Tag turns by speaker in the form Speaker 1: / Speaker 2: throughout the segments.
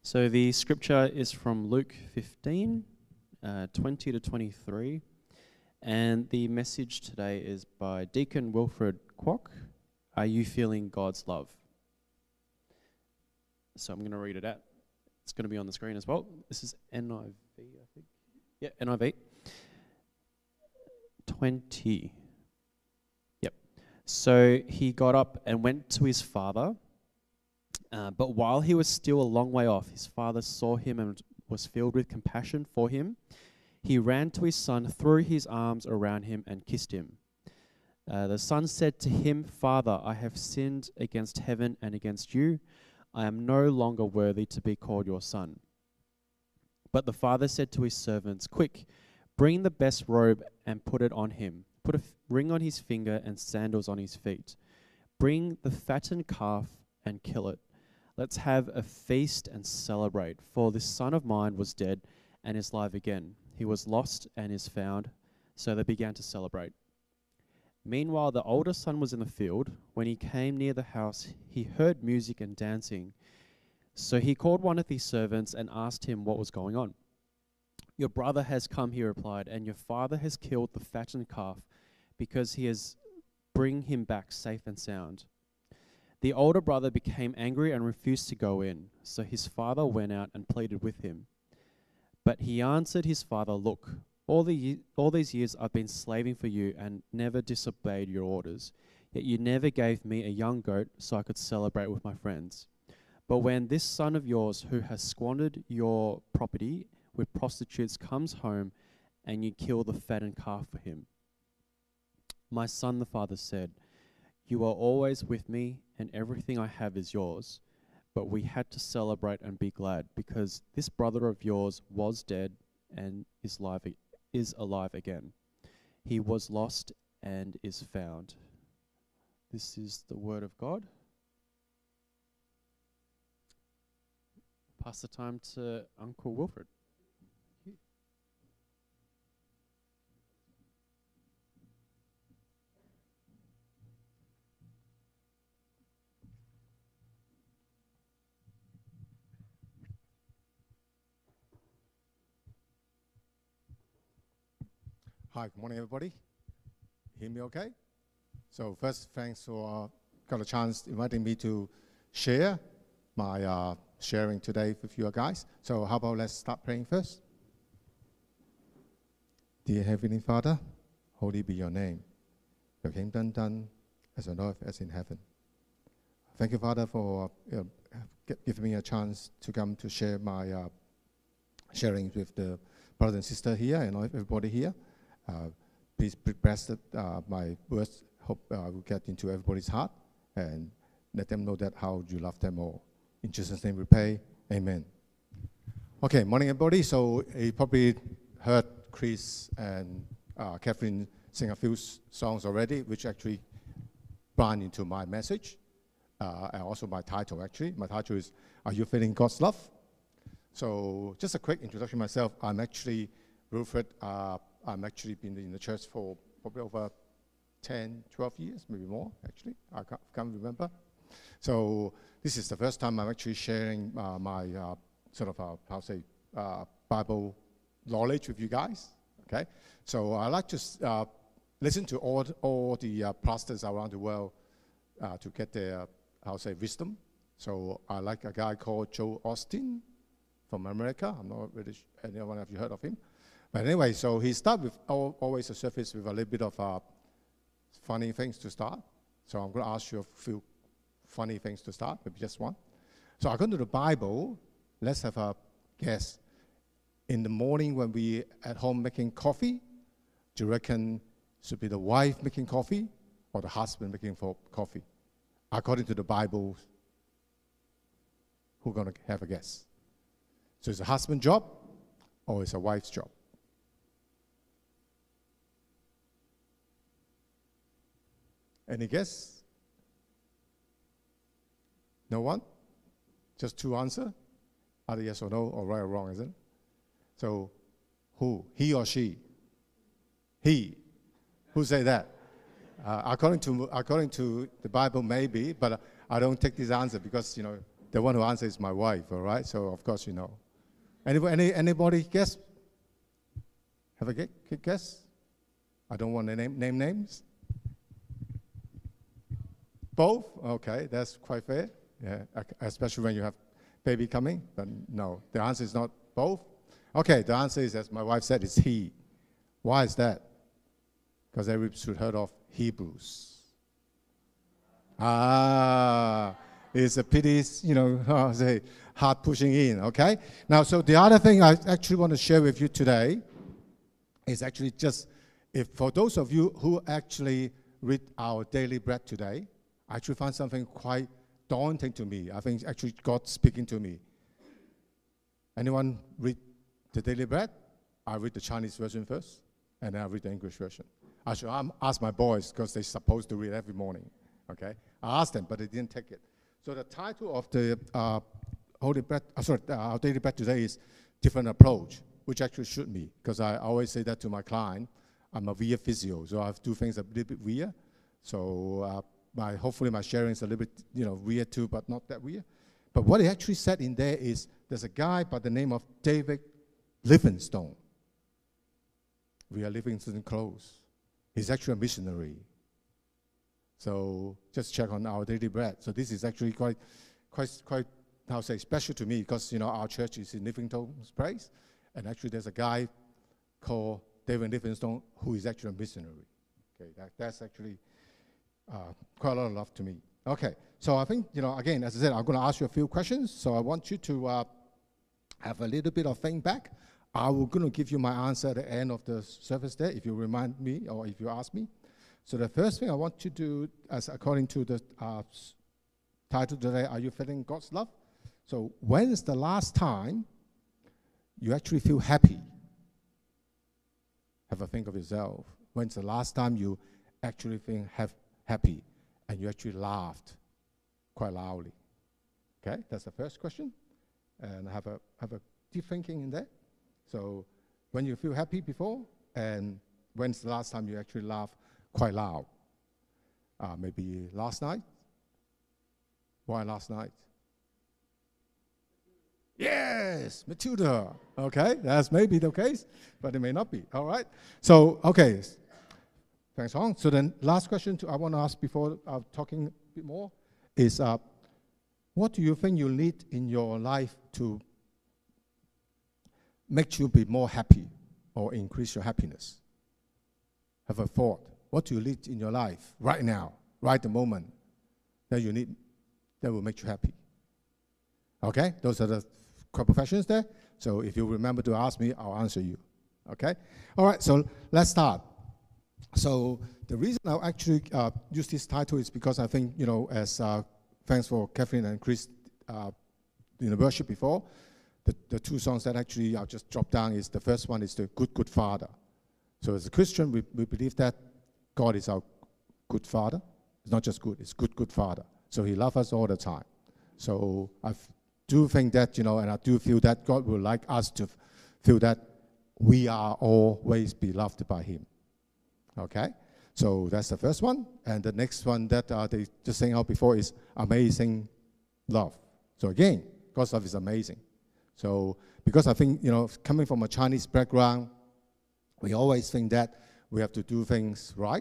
Speaker 1: So the scripture is from Luke 15, 20 to 23. And the message today is by Deacon Wilfred Kwok. Are you feeling God's love? So I'm going to read it out. It's going to be on the screen as well. This is NIV, I think. Yeah, NIV. 20. Yep. So he got up and went to his father. But while he was still a long way off, his father saw him and was filled with compassion for him. He ran to his son, threw his arms around him, and kissed him. The son said to him, "Father, I have sinned against heaven and against you. I am no longer worthy to be called your son." But the father said to his servants, "Quick, bring the best robe and put it on him. Put a ring on his finger and sandals on his feet. Bring the fattened calf and kill it. Let's have a feast and celebrate, for this son of mine was dead and is alive again. He was lost and is found." So they began to celebrate. Meanwhile, the older son was in the field. When he came near the house, he heard music and dancing. So he called one of his servants and asked him what was going on. "Your brother has come," he replied, "and your father has killed the fattened calf because he has bring him back safe and sound." The older brother became angry and refused to go in. So his father went out and pleaded with him. But he answered his father, "Look, all these years I've been slaving for you and never disobeyed your orders. Yet you never gave me a young goat so I could celebrate with my friends. But when this son of yours who has squandered your property with prostitutes comes home and you kill the fattened calf for him." "My son," the father said, "you are always with me and everything I have is yours. But we had to celebrate and be glad because this brother of yours was dead and is alive again. He was lost and is found." This is the word of God. Pass the time to Uncle Wilfred.
Speaker 2: Hi, good morning, everybody. Hear me okay? So first, thanks for got a chance inviting me to share my sharing today with you guys. So how about let's start praying first? Dear Heavenly Father, holy be your name. Your kingdom done as on earth as in heaven. Thank you, Father, for giving me a chance to come to share my sharing with the brother and sister here and everybody here. Please bless my words. Hope I will get into everybody's heart and let them know that how you love them all. In Jesus' name we pray. Amen. Okay, morning everybody. So you probably heard Chris and Catherine sing a few songs already, which actually brought into my message and also my title actually. My title is "Are You Feeling God's Love?" So just a quick introduction myself. I'm actually Wilfred. I'm actually been in the church for probably over 10, 12 years, maybe more, actually. I can't remember. So this is the first time I'm actually sharing my Bible knowledge with you guys, okay? So I like to listen to all the pastors around the world to get their, wisdom. So I like a guy called Joel Osteen from America. I'm not really sure anyone of you heard of him. But anyway, so he started with always a service with a little bit of funny things to start. So I'm going to ask you a few funny things to start, maybe just one. So according to the Bible, let's have a guess. In the morning when we at home making coffee, do you reckon should be the wife making coffee or the husband making coffee? According to the Bible, who's going to have a guess? So it's a husband's job or it's a wife's job? Any guess? No one? Just two answers? Either yes or no, or right or wrong, isn't it? So, who? He or she? He. Who say that? According to the Bible, maybe, but I don't take this answer because, the one who answers is my wife, all right? So, of course, you know. Anybody guess? Have a guess? I don't want to name names. Both? Okay, that's quite fair. Yeah, especially when you have baby coming. But no, the answer is not both. Okay, the answer is, as my wife said, it's he. Why is that? Because everybody should heard of Hebrews. It's a pity, you know, say hard pushing in, okay? Now, so the other thing I actually want to share with you today is actually just, if for those of you who actually read our daily bread today, I actually found something quite daunting to me. I think actually God speaking to me. Anyone read the daily bread? I read the Chinese version first, and then I read the English version. I should ask my boys, because they're supposed to read every morning, okay? I asked them, but they didn't take it. So the title of the Holy Bread, our daily bread today is Different Approach, which actually should be, because I always say that to my client. I'm a weird physio, so I have to do things a little bit weird. So hopefully my sharing is a little bit, you know, weird too, but not that weird. But what he actually said in there is, there's a guy by the name of David Livingstone. We are Livingstone close. He's actually a missionary. So just check on our daily bread. So this is actually quite, how to say, special to me, because, you know, our church is in Livingstone's place, and actually there's a guy called David Livingstone who is actually a missionary. Okay, that's actually quite a lot of love to me. Okay, so I think, you know, again, as I said, I'm going to ask you a few questions. So I want you to have a little bit of feedback. I will going to give you my answer at the end of the service there, if you remind me or if you ask me. So the first thing I want you to do, as according to the title today, are you feeling God's love? So when is the last time you actually feel happy? Have a think of yourself. When's the last time you actually feel happy and you actually laughed quite loudly? Okay, that's the first question. And have a deep thinking in there. So when you feel happy before, and when's the last time you actually laughed quite loud? Maybe last night? Why last night? Yes, Matilda. Okay, that's maybe the case, but it may not be. All right. So, okay. Thanks, Hong. So then last question I want to ask before talking a bit more is, what do you think you need in your life to make you be more happy or increase your happiness? Have a thought. What do you need in your life right now, right the moment, that you need, that will make you happy? Okay, those are the couple of questions there. So if you remember to ask me, I'll answer you. Okay? All right, so let's start. So the reason I actually use this title is because I think, you know, as thanks for Catherine and Chris in the worship before, the two songs that actually I'll just drop down is, the first one is the Good Father. So as a Christian, we believe that God is our good Father. It's not just good, it's good Father. So he loves us all the time. So I do think that, you know, and I do feel that God would like us to feel that we are always beloved by him. Okay? So that's the first one. And the next one that they just sang out before is Amazing Love. So again, God's love is amazing. So because I think, you know, coming from a Chinese background, we always think that we have to do things right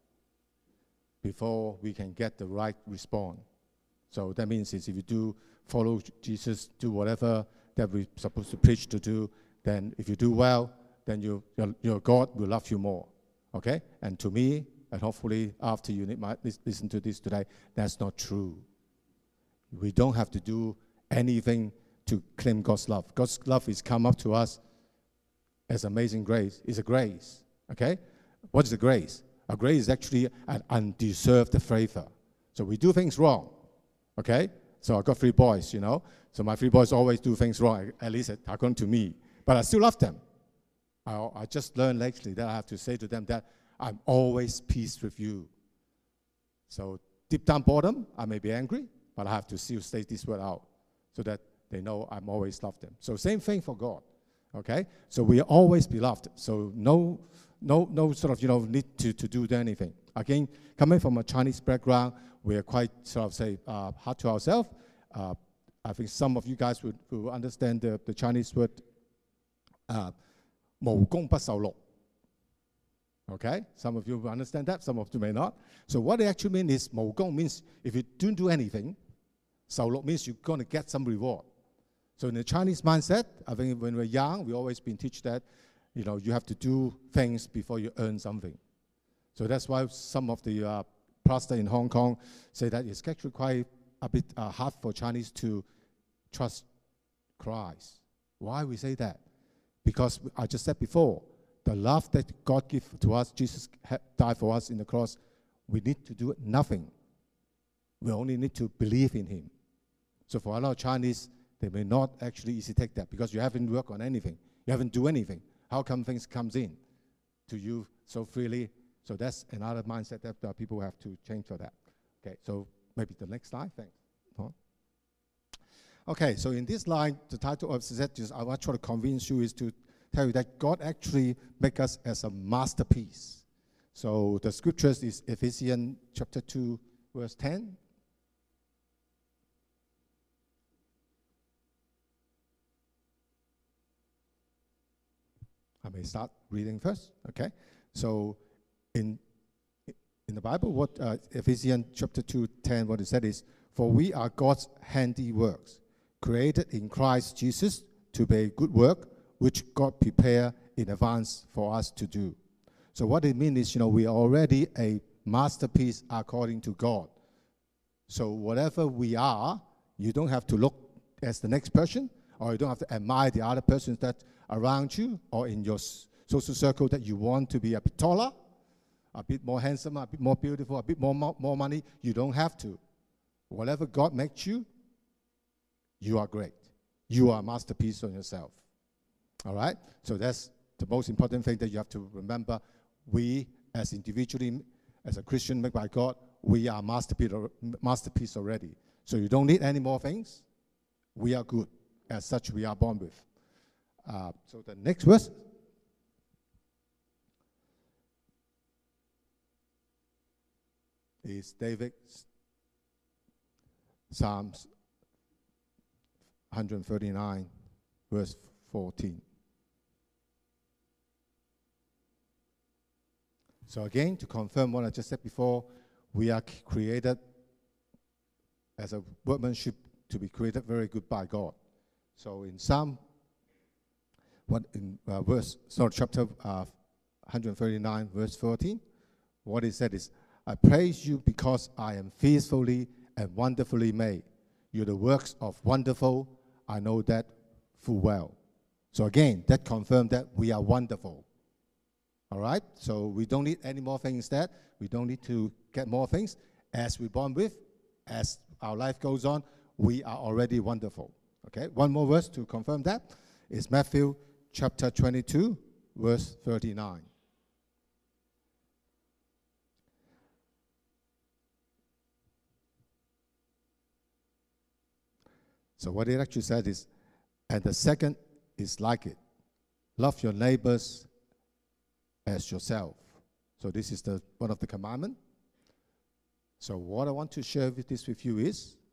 Speaker 2: before we can get the right response. So that means if you do follow Jesus, do whatever that we're supposed to preach to do, then if you do well, then your God will love you more. Okay? And to me, and hopefully after you might listen to this today, that's not true. We don't have to do anything to claim God's love. God's love is come up to us as amazing grace. It's a grace. Okay? What is a grace? A grace is actually an undeserved favor. So we do things wrong. Okay? So I got 3 boys, you know. So my 3 boys always do things wrong, at least according to me. But I still love them. I just learned lately that I have to say to them that I'm always peace with you. So deep down bottom, I may be angry, but I have to still say this word out so that they know I'm always love them. So same thing for God. Okay? So we are always beloved. So no sort of, you know, need to do anything. Again, coming from a Chinese background, we are quite sort of say hard to ourselves. I think some of you guys will understand the Chinese word 無功不受祿. Okay, some of you will understand that, some of you may not. So what it actually means is 無功 means if you don't do anything, 受祿 means you're going to get some reward. So in the Chinese mindset, I think when we're young, we always been taught that, you have to do things before you earn something. So that's why some of the pastors in Hong Kong say that it's actually quite a bit hard for Chinese to trust Christ. Why we say that? Because I just said before, the love that God gives to us, Jesus died for us in the cross, we need to do nothing. We only need to believe in him. So for a lot of Chinese, they may not actually easily take that because you haven't worked on anything. You haven't do anything. How come things comes in to you so freely? So that's another mindset that people have to change for that. Okay, so maybe the next slide, thanks. Okay, so in this line, the title of this, I want to try to convince you is to tell you that God actually make us as a masterpiece. So the scriptures is Ephesians chapter 2, verse 10. I may start reading first, okay? So in the Bible, what Ephesians chapter 2:10, what it said is, "For we are God's handiworks, created in Christ Jesus to be a good work, which God prepared in advance for us to do." So what it means is, we are already a masterpiece according to God. So whatever we are, you don't have to look as the next person, or you don't have to admire the other persons that around you or in your social circle that you want to be a bit taller, a bit more handsome, a bit more beautiful, a bit more money. You don't have to. Whatever God makes you, you are great. You are a masterpiece on yourself. All right? So that's the most important thing that you have to remember. We, as individually, as a Christian made by God, we are masterpiece already. So you don't need any more things. We are good. As such, we are born with. So the next verse. Is David's Psalms 139, verse 14. So again, to confirm what I just said before, we are created as a workmanship to be created very good by God. So in chapter 139, verse 14, what it said is, "I praise you because I am fearfully and wonderfully made. You're the works of wonderful. I know that full well." So again, that confirmed that we are wonderful. All right? So we don't need any more things that. We don't need to get more things. As we're born with, as our life goes on, we are already wonderful. Okay? One more verse to confirm that is Matthew chapter 22, verse 39. So what it actually said is, and the second is like it. Love your neighbors as yourself. So this is one of the commandments. So what I want to share with you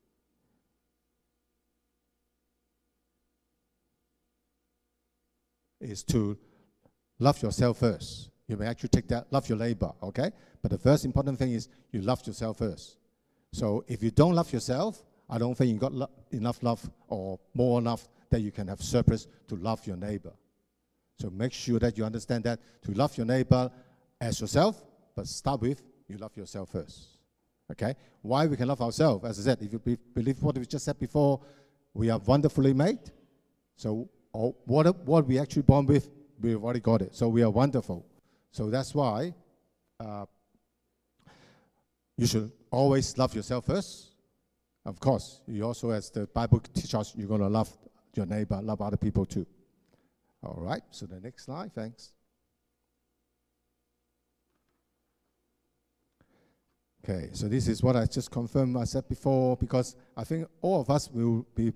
Speaker 2: is to love yourself first. You may actually take that, love your neighbor, okay? But the first important thing is you love yourself first. So if you don't love yourself, I don't think you got enough love or more enough that you can have surplus to love your neighbor. So make sure that you understand that to love your neighbor as yourself, but start with you love yourself first. Okay? Why we can love ourselves? As I said, if you believe what we just said before, we are wonderfully made. So what we actually born with, we've already got it. So we are wonderful. So that's why you should always love yourself first. Of course, you also, as the Bible teaches us, you're going to love your neighbor, love other people too. All right, so the next slide, thanks. Okay, so this is what I just confirmed I said before, because I think all of us will be,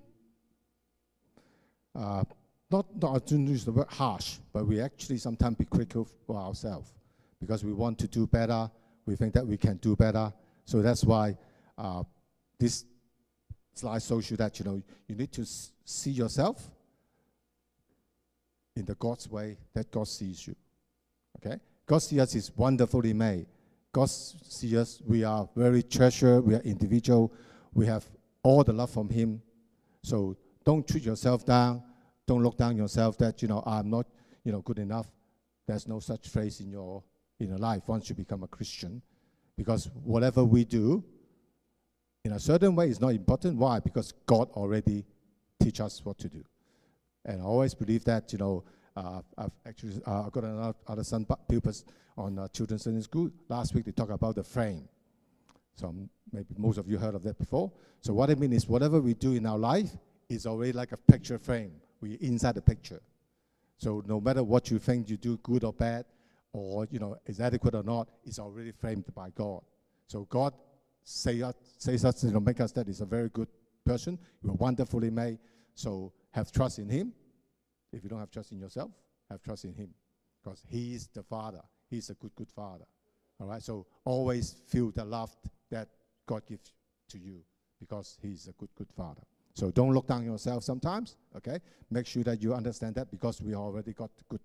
Speaker 2: not to use the word harsh, but we actually sometimes be critical for ourselves because we want to do better, we think that we can do better. So that's why this slide shows you that, you need to see yourself in the God's way that God sees you. Okay? God sees us is wonderfully made. God sees us, we are very treasured, we are individual, we have all the love from Him. So don't treat yourself down. Don't look down yourself that, I'm not, good enough. There's no such phrase in your life once you become a Christian. Because whatever we do, in a certain way, is not important. Why? Because God already teach us what to do. And I always believe that, I've actually got another son pupils on Children's Sunday School. Last week, they talked about the frame. So maybe most of you heard of that before. So what I mean is whatever we do in our life is already like a picture frame. We're inside the picture. So no matter what you think you do, good or bad, or, is adequate or not, it's already framed by God. So God says us, make us that is a very good person. You are wonderfully made. So have trust in Him. If you don't have trust in yourself, have trust in Him. Because He is the Father. He's a good, good Father. All right? So always feel the love that God gives to you because He's a good, good Father. So don't look down yourself sometimes, okay? Make sure that you understand that because we already got good,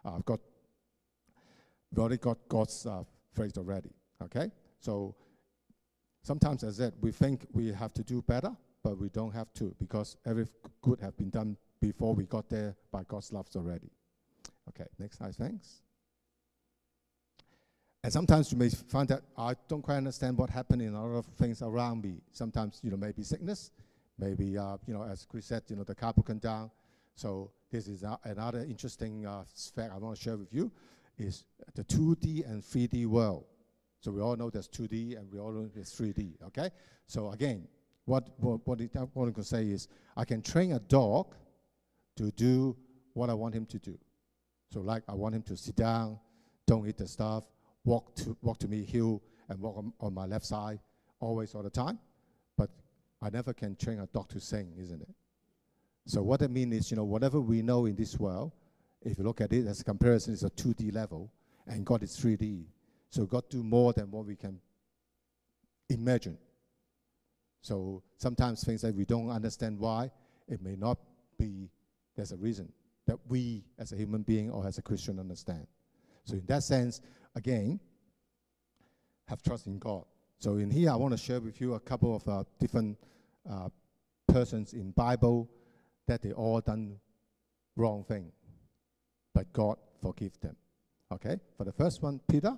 Speaker 2: we already got God's phrase already, okay? So sometimes, as I said, we think we have to do better, but we don't have to because every good have been done before we got there by God's love already. Okay, next slide, thanks. And sometimes you may find that I don't quite understand what happened in a lot of things around me. Sometimes, maybe sickness, maybe, as Chris said, the car broken down. So this is another interesting fact I want to share with you is the 2D and 3D world. So we all know there's 2D and we all know there's 3D, okay? So again, what I want to say is I can train a dog to do what I want him to do. So like I want him to sit down, don't eat the stuff, walk to me heel and walk on my left side, always all the time. But I never can train a dog to sing, isn't it? So what I mean is, whatever we know in this world, if you look at it as a comparison, it's a 2D level, and God is 3D. So God do more than what we can imagine. So sometimes things that we don't understand why, it may not be, there's a reason that we as a human being or as a Christian understand. So in that sense, again, have trust in God. So in here, I want to share with you a couple of different persons in Bible that they all done wrong thing, but God forgive them. Okay, for the first one, Peter.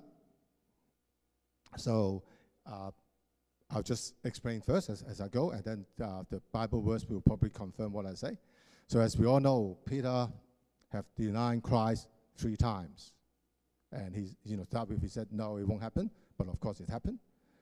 Speaker 2: So I'll just explain first as I go, and then the Bible verse will probably confirm what I say. So as we all know, Peter have denied Christ 3 times. And he said, no, it won't happen. But of course it happened.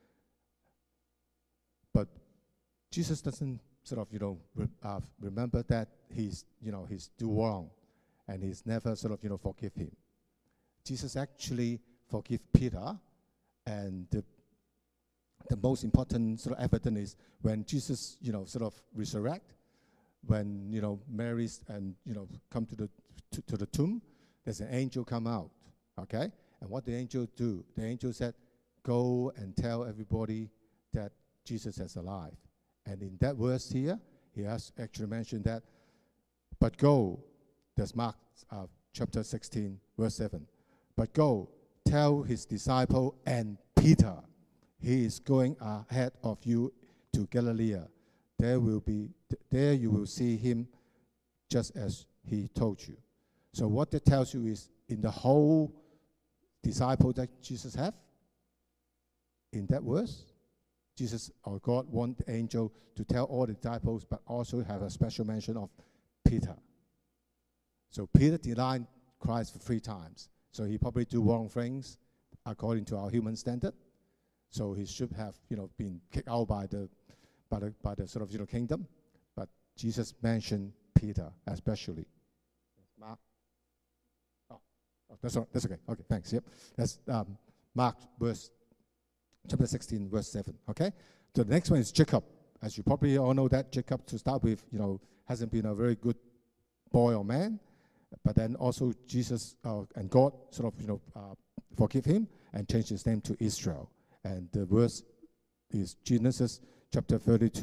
Speaker 2: But Jesus doesn't sort of, remember that he's do wrong. And he's never sort of, forgive him. Jesus actually forgive Peter. And the most important sort of evidence is when Jesus, sort of resurrect, when, Mary's and, come to the tomb, there's an angel come out, okay? And what the angel do? The angel said, go and tell everybody that Jesus is alive. And in that verse here, he has actually mentioned that, but go, that's Mark chapter 16, verse 7. But go, tell his disciple and Peter, he is going ahead of you to Galilee. There you will see him just as he told you. So what that tells you is in the whole disciple that Jesus have, in that verse, Jesus or God want the angel to tell all the disciples, but also have a special mention of Peter. So Peter denied Christ for 3 times. So he probably do wrong things according to our human standard. So he should have, been kicked out by the sort of, kingdom. But Jesus mentioned Peter especially. Mark. Oh, that's okay. Okay, thanks. Yep. That's Mark chapter 16, verse 7. Okay. So the next one is Jacob. As you probably all know that Jacob, to start with, hasn't been a very good boy or man. But then also Jesus and God sort of, forgive him and change his name to Israel. And the verse is Genesis chapter 32,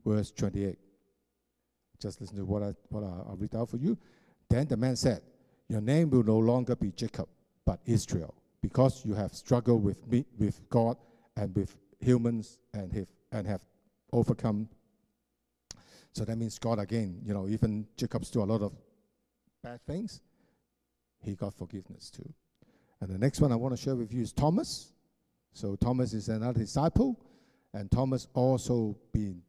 Speaker 2: verse 28. Just listen to what I'll read out for you. Then the man said, your name will no longer be Jacob, but Israel, because you have struggled with me, with God and with humans, and have overcome. So that means God again, even Jacob's do a lot of bad things, he got forgiveness too. And the next one I want to share with you is Thomas. So Thomas is another disciple, and Thomas also been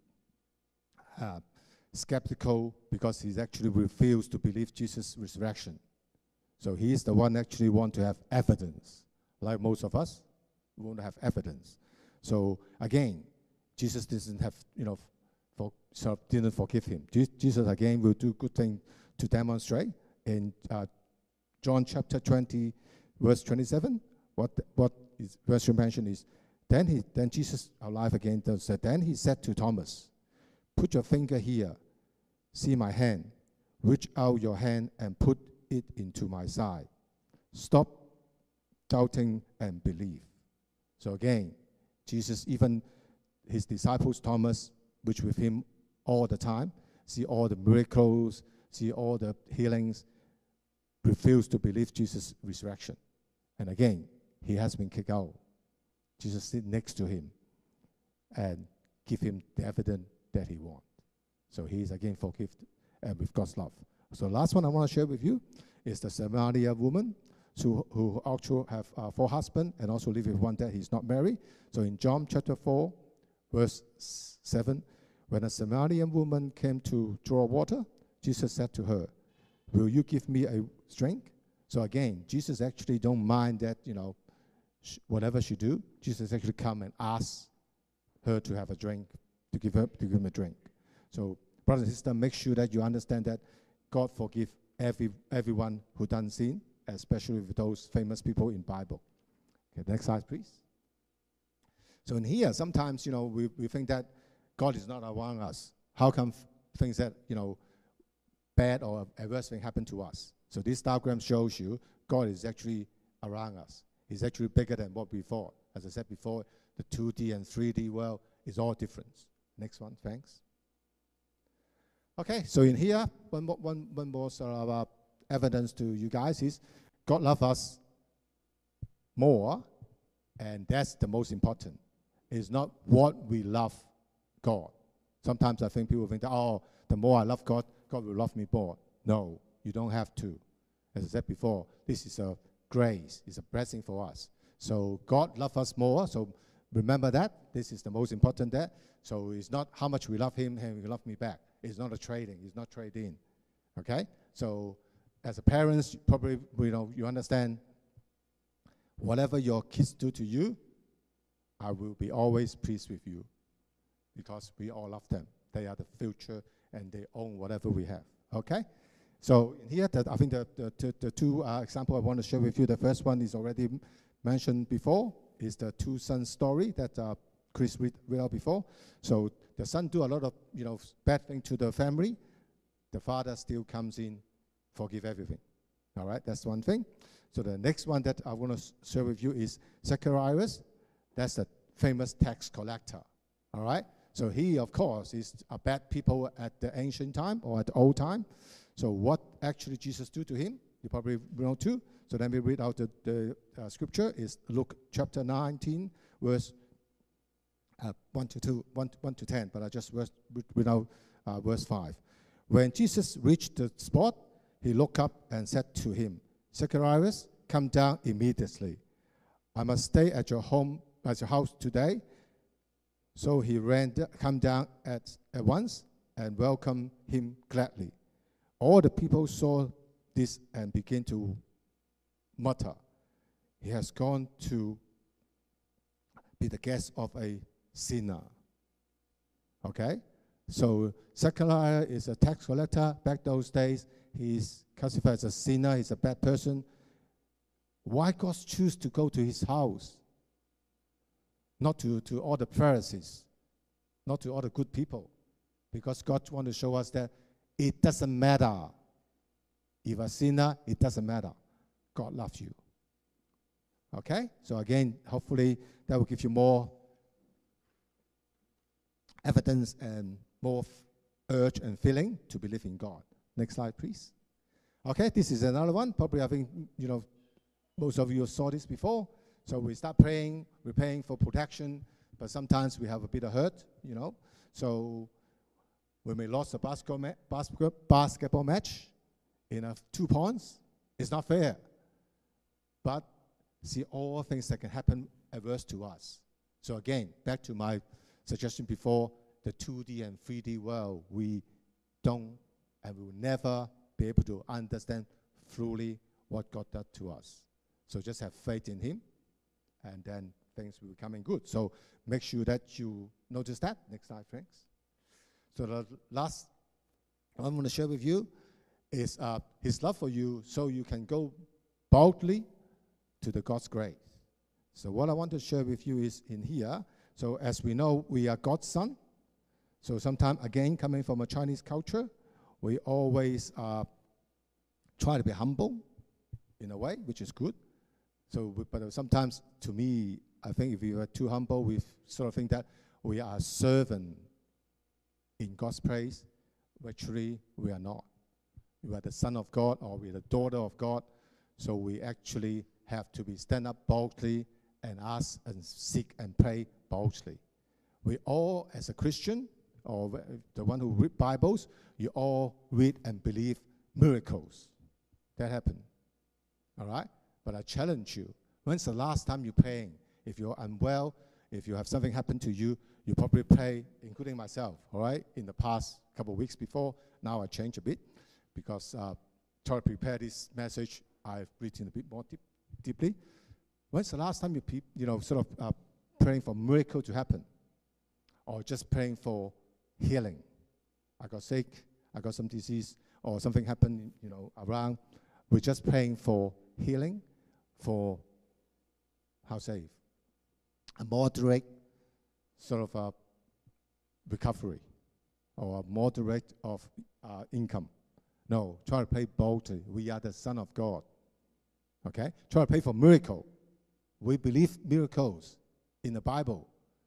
Speaker 2: skeptical because he's actually refused to believe Jesus' resurrection. So he's the one actually want to have evidence. Like most of us, we want to have evidence. So again, Jesus didn't have, didn't forgive him. Jesus again will do good thing to demonstrate. In John chapter 20, verse 27, what is verse you mentioned is, then Jesus alive again said, then he said to Thomas, put your finger here, see my hand, reach out your hand and put it into my side. Stop doubting and believe. So again, Jesus, even his disciples, Thomas, which with him all the time, see all the miracles, see all the healings, refuse to believe Jesus' resurrection. And again, he has been kicked out. Jesus sit next to him and give him the evidence that he wants. So he is again forgiven and with God's love. So last one I want to share with you is the Samaritan woman who actually have 4 husbands and also live with one that he's not married. So in John chapter 4, verse 7, when a Samaritan woman came to draw water, Jesus said to her, will you give me a drink? So again, Jesus actually don't mind that, whatever she do, Jesus actually come and ask her to have a drink, to give him a drink. So brothers and sisters, make sure that you understand that God forgive everyone who done sin, especially with those famous people in Bible. Okay, next slide, please. So in here, sometimes, we think that God is not around us. How come things that, bad or adverse thing happen to us? So this diagram shows you God is actually around us. He's actually bigger than what we thought. As I said before, the 2D and 3D world is all different. Next one, thanks. Okay, so in here, one more sort of evidence to you guys is God loves us more, and that's the most important. It's not what we love God. Sometimes I think people think that, the more I love God, God will love me more. No, you don't have to. As I said before, this is a grace. It's a blessing for us. So God loves us more. So remember that. This is the most important that. So it's not how much we love him and he love me back. It's not a trading. It's not trade-in. Okay? So as a parent, probably, you understand whatever your kids do to you, I will be always pleased with you because we all love them. They are the future and they own whatever we have. Okay? So here, I think the two examples I want to share with you, the first one is already mentioned before, is the 2 sons story that Chris read out before. So the son do a lot of bad thing to the family. The father still comes in, forgive everything. All right, that's one thing. So the next one that I want to share with you is Zacharias. That's the famous tax collector. All right. So he, of course, is a bad people at the ancient time or at the old time. So what actually Jesus do to him? You probably know too. So let me read out the scripture. Is Luke chapter 19, verse 1 to 10. But I just read out verse 5. When Jesus reached the spot, he looked up and said to him, Zacharias, come down immediately. I must stay at your house today. So he come down at once and welcomed him gladly. All the people saw this and began to mutter, he has gone to be the guest of a sinner. Okay? So Zechariah is a tax collector. Back those days, he's classified as a sinner. He's a bad person. Why God choose to go to his house? Not to all the Pharisees, not to all the good people. Because God wants to show us that it doesn't matter. If a sinner, it doesn't matter. God loves you. Okay? So again, hopefully that will give you more evidence and more urge and feeling to believe in God. Next slide, please. Okay, this is another one. Probably I think, most of you saw this before. So we start praying, we're praying for protection, but sometimes we have a bit of hurt, So when we lost a basketball match in 2 points, it's not fair. But see all things that can happen adverse to us. So again, back to my suggestion before, the 2D and 3D world, we don't and will never be able to understand fully what God does to us. So just have faith in Him, and then things will be coming good. So make sure that you notice that. Next slide, thanks. So the last I want to share with you is His love for you, so you can go boldly to the God's grace. So what I want to share with you is in here. So as we know, we are God's son. So sometimes, again, coming from a Chinese culture, we always try to be humble in a way, which is good. So, but sometimes, to me, I think if we are too humble, we sort of think that we are a servant in God's place. Actually, we are not. We are the son of God, or we are the daughter of God. So we actually have to stand up boldly and ask and seek and pray boldly. We all, as a Christian, or the one who read Bibles, you all read and believe miracles that happen. All right? But I challenge you, when's the last time you're praying? If you're unwell, if you have something happen to you, you probably pray, including myself, all right? In the past couple of weeks before, now I change a bit, because try to prepare this message, I've written a bit more deeply. When's the last time you praying for miracle to happen? Or just praying for healing? I got sick, I got some disease, or something happened, around. We're just praying for healing, for, a moderate sort of recovery, or a moderate of income. No, try to pray boldly. We are the Son of God. Okay? Try to pray for miracle. We believe miracles in the Bible.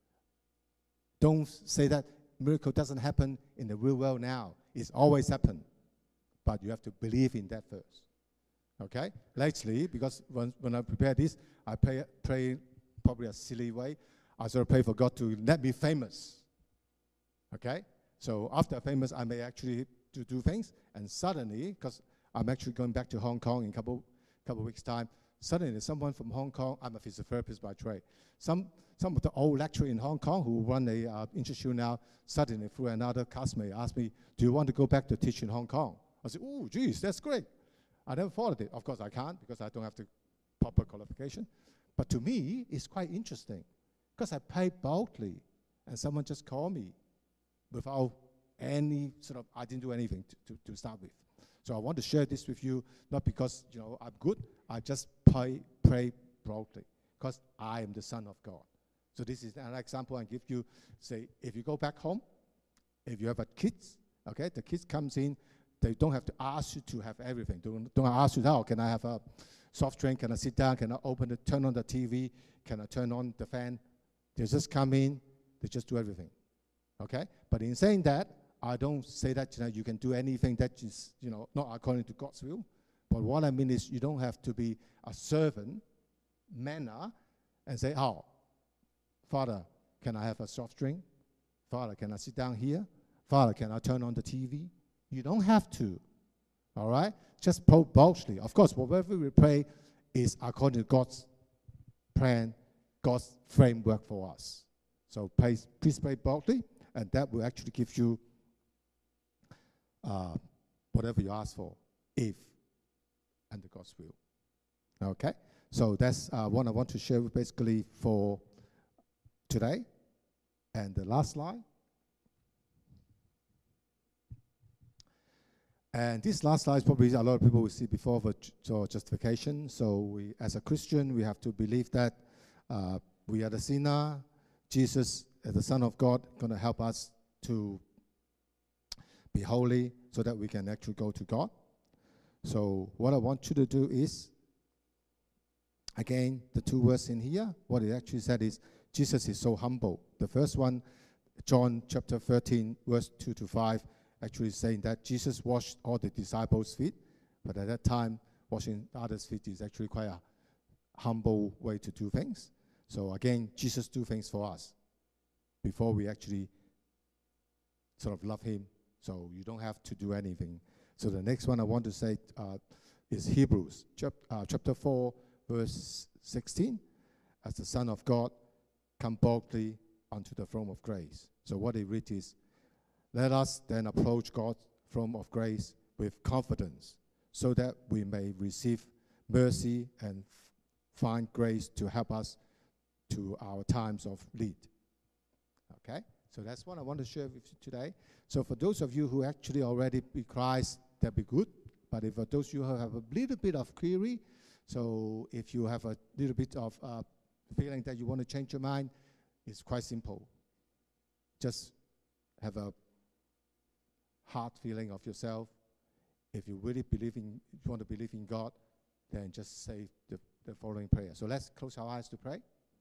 Speaker 2: Don't say that miracle doesn't happen in the real world now. It's always happened. But you have to believe in that first. Okay? Lately, because when I prepare this, I pray probably a silly way. I sort of pray for God to let me famous. Okay? So after famous, I may actually do things. And suddenly, because I'm actually going back to Hong Kong in a couple weeks' time, suddenly someone from Hong Kong, I'm a physiotherapist by trade, some of the old lecturers in Hong Kong who run a institute now, suddenly through another classmate asked me, do you want to go back to teach in Hong Kong? I said, oh, geez, that's great. I never thought of it. Of course, I can't, because I don't have the proper qualification. But to me, it's quite interesting, because I prayed boldly, and someone just called me without any I didn't do anything to start with. So I want to share this with you, not because, I'm good. I just pray boldly, because I am the Son of God. So this is an example I give you. Say, if you go back home, if you have a kids, okay, the kids comes in, they don't have to ask you to have everything. Don't ask you, oh, can I have a soft drink? Can I sit down? Can I turn on the TV? Can I turn on the fan? They just come in, they just do everything. Okay? But in saying that, I don't say that you can do anything that is not according to God's will. But what I mean is, you don't have to be a servant manner and say, oh, Father, can I have a soft drink? Father, can I sit down here? Father, can I turn on the TV? You don't have to. All right? Just pray boldly. Of course, whatever we pray is according to God's plan, God's framework for us. So please pray boldly, and that will actually give you whatever you ask for, if under God's will. Okay? So that's what I want to share basically for today. And the last slide. And this last slide is probably a lot of people will see before for justification. So we, as a Christian, we have to believe that we are the sinner. Jesus, as the Son of God, going to help us to be holy so that we can actually go to God. So what I want you to do is, again, the two words in here, what it actually said is, Jesus is so humble. The first one, John chapter 13, verse 2 to 5, actually saying that Jesus washed all the disciples' feet, but at that time, washing others' feet is actually quite a humble way to do things. So again, Jesus do things for us before we actually sort of love him. So you don't have to do anything. So the next one I want to say is Hebrews chapter 4, verse 16. As the Son of God, come boldly unto the throne of grace. So what they read is, let us then approach God's throne of grace with confidence, so that we may receive mercy and find grace to help us to our times of need. Okay? So that's what I want to share with you today. So for those of you who actually already be Christ, that'd be good. But if for those of you who have a little bit of query, so if you have a little bit of feeling that you want to change your mind, it's quite simple. Just have a heart feeling of yourself. If you really want to believe in God, then just say the following prayer. So let's close our eyes to pray.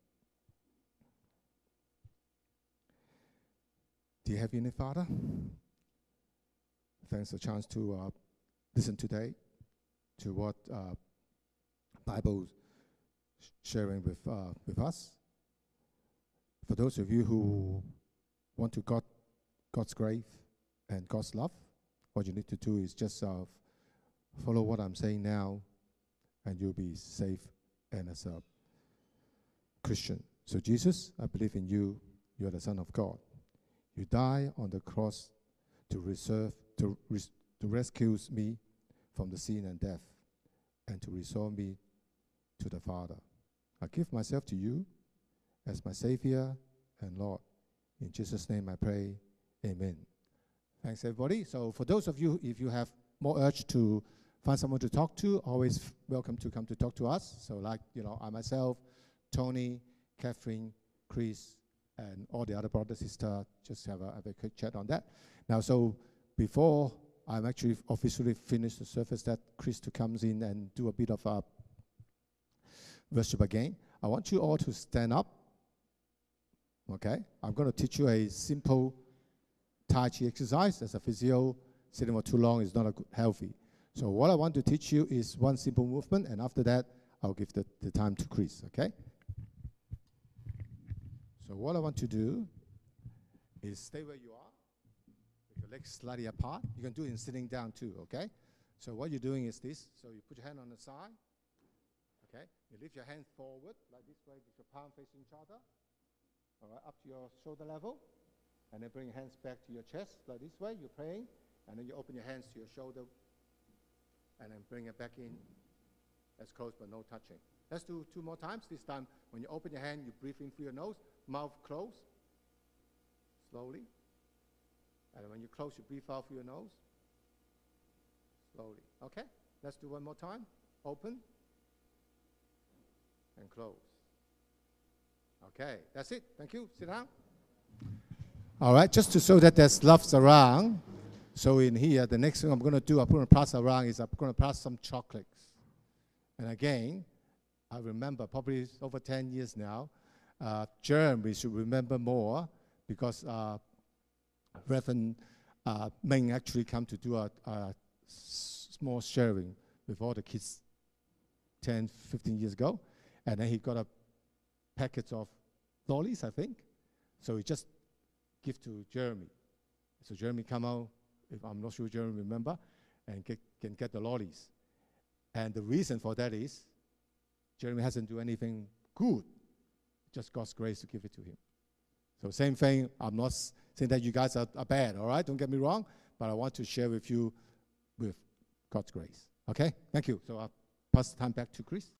Speaker 2: Dear Heavenly Father, thanks for the chance to listen today to what Bible sharing with us. For those of you who want to God's grace and God's love, what you need to do is just follow what I'm saying now, and you'll be safe and as a Christian. So Jesus, I believe in you. You are the Son of God. You die on the cross to rescue me from the sin and death, and to restore me to the Father. I give myself to you as my Savior and Lord. In Jesus' name I pray, amen. Thanks, everybody. So for those of you, if you have more urge to find someone to talk to, always welcome to come to talk to us. So like, I myself, Tony, Catherine, Chris, and all the other brothers, sisters, just have a quick chat on that. Now, so before I'm actually officially finished the service, that Chris comes in and do a bit of worship again, I want you all to stand up. Okay? I'm going to teach you a simple Tai Chi exercise. As a physio, sitting for too long is not healthy. So what I want to teach you is one simple movement, and after that, I'll give the time to Chris, okay? So what I want to do is stay where you are, with your legs slightly apart. You can do it in sitting down too, okay? So what you're doing is this. So you put your hand on the side, okay? You lift your hand forward, like this way, with your palm facing each other, all right, up to your shoulder level. And then bring your hands back to your chest, like this way, you're praying. And then you open your hands to your shoulder, and then bring it back in as close but no touching. Let's do 2 more times. This time, when you open your hand, you breathe in through your nose, mouth closed, slowly. And when you close, you breathe out through your nose, slowly. Okay? Let's do 1 more time. Open and close. Okay, that's it. Thank you. Sit down. All right, just to show that there's loves around. So in here, the next thing I'm going to do, I'm going to pass around is I'm going to pass some chocolates. And again, I remember probably over 10 years now, we should remember more because Reverend Ming actually come to do a small sharing with all the kids 10, 15 years ago. And then he got a packet of lollies, I think. So he just give to Jeremy. So Jeremy come out, if I'm not sure Jeremy remember, and can get the lollies. And the reason for that is Jeremy hasn't do anything good, just God's grace to give it to him. So same thing, I'm not saying that you guys are bad, all right? Don't get me wrong, but I want to share with you with God's grace. Okay? Thank you. So I'll pass the time back to Chris.